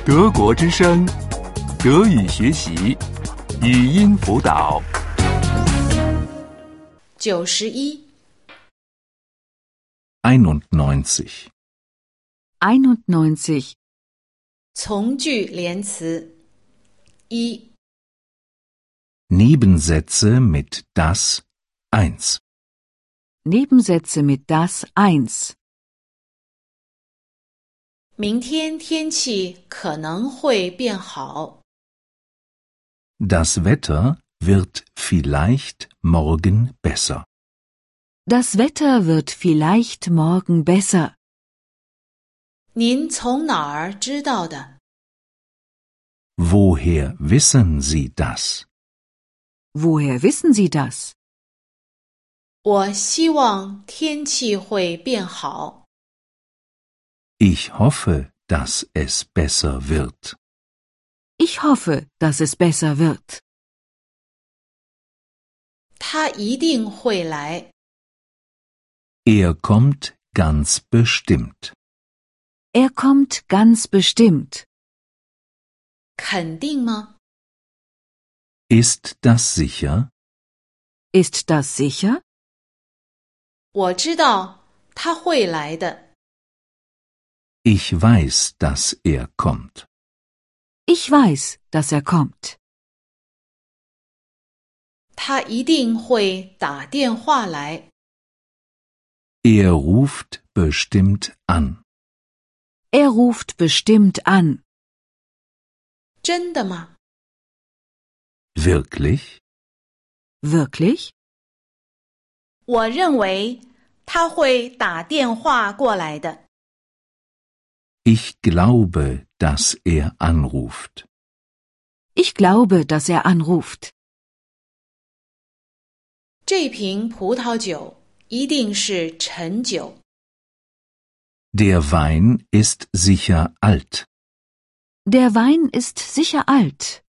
德国之声，德语学习，语音辅导。 91 91 从句连词一 Nebensätze mit das 1 Nebensätze mit das 1 明天天气可能会变好。 Das Wetter wird vielleicht morgen besser. Das Wetter wird vielleicht morgen besser. 您从哪儿知道的？ Woher wissen Sie das? Woher wissen Sie das? 我希望天气会变好。 Ich hoffe, dass es besser wird. Ich hoffe, dass es besser wird. 他一定会来。 Er kommt ganz bestimmt. Er kommt ganz bestimmt. 肯定吗？ Ist das sicher? Ist das sicher? 我知道他会来的。 Ich weiß, dass er kommt. Ich weiß, dass er kommt. 他一定会打电话来。 Er ruft bestimmt an. Er ruft bestimmt an. 真的吗？ Wirklich? Wirklich? 我认为他会打电话过来的。 Ich glaube, dass er anruft. Ich glaube, dass er anruft. 这瓶葡萄酒一定是陈酒。 Der Wein ist sicher alt. Der Wein ist sicher alt.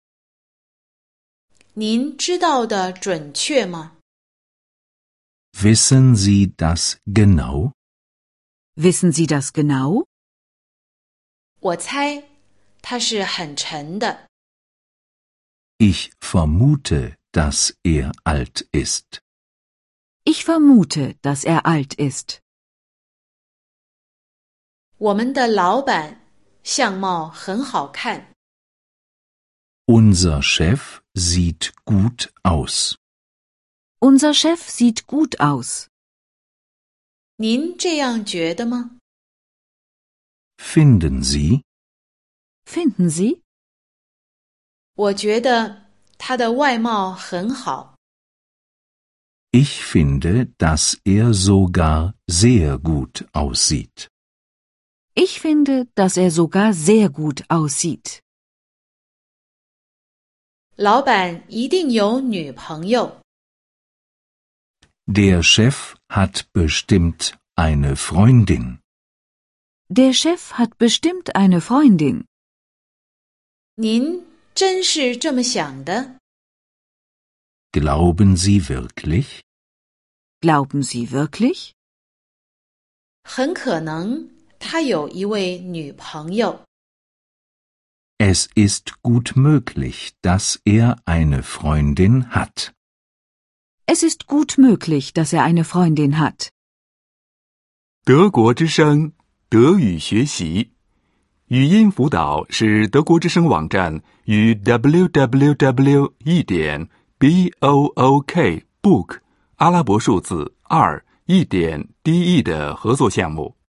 您知道的准确吗？ Wissen Sie das genau? Wissen Sie das genau? 我猜它是很沉的。 Ich vermute, dass er alt ist. Ich vermute, dass er alt ist. 我们的老板相貌很好看。 Unser Chef sieht gut aus. Unser Chef sieht gut aus. 您这样觉得吗？ Finden Sie? Finden Sie? 我觉得他的外貌很好。 Ich finde, dass er sogar sehr gut aussieht. Ich finde, dass er sogar sehr gut aussieht. 老板一定有女朋友。 Der Chef hat bestimmt eine Freundin. Der Chef hat bestimmt eine Freundin. 您真是这么想的？ Glauben Sie wirklich? Glauben Sie wirklich? 很可能他有一位女朋友。 Es ist gut möglich, dass er eine Freundin hat. Es ist gut möglich, dass er eine Freundin hat. 德国之声，德语学习，语音辅导是德国之声网站与 www.book 阿拉伯数字2.de 的合作项目。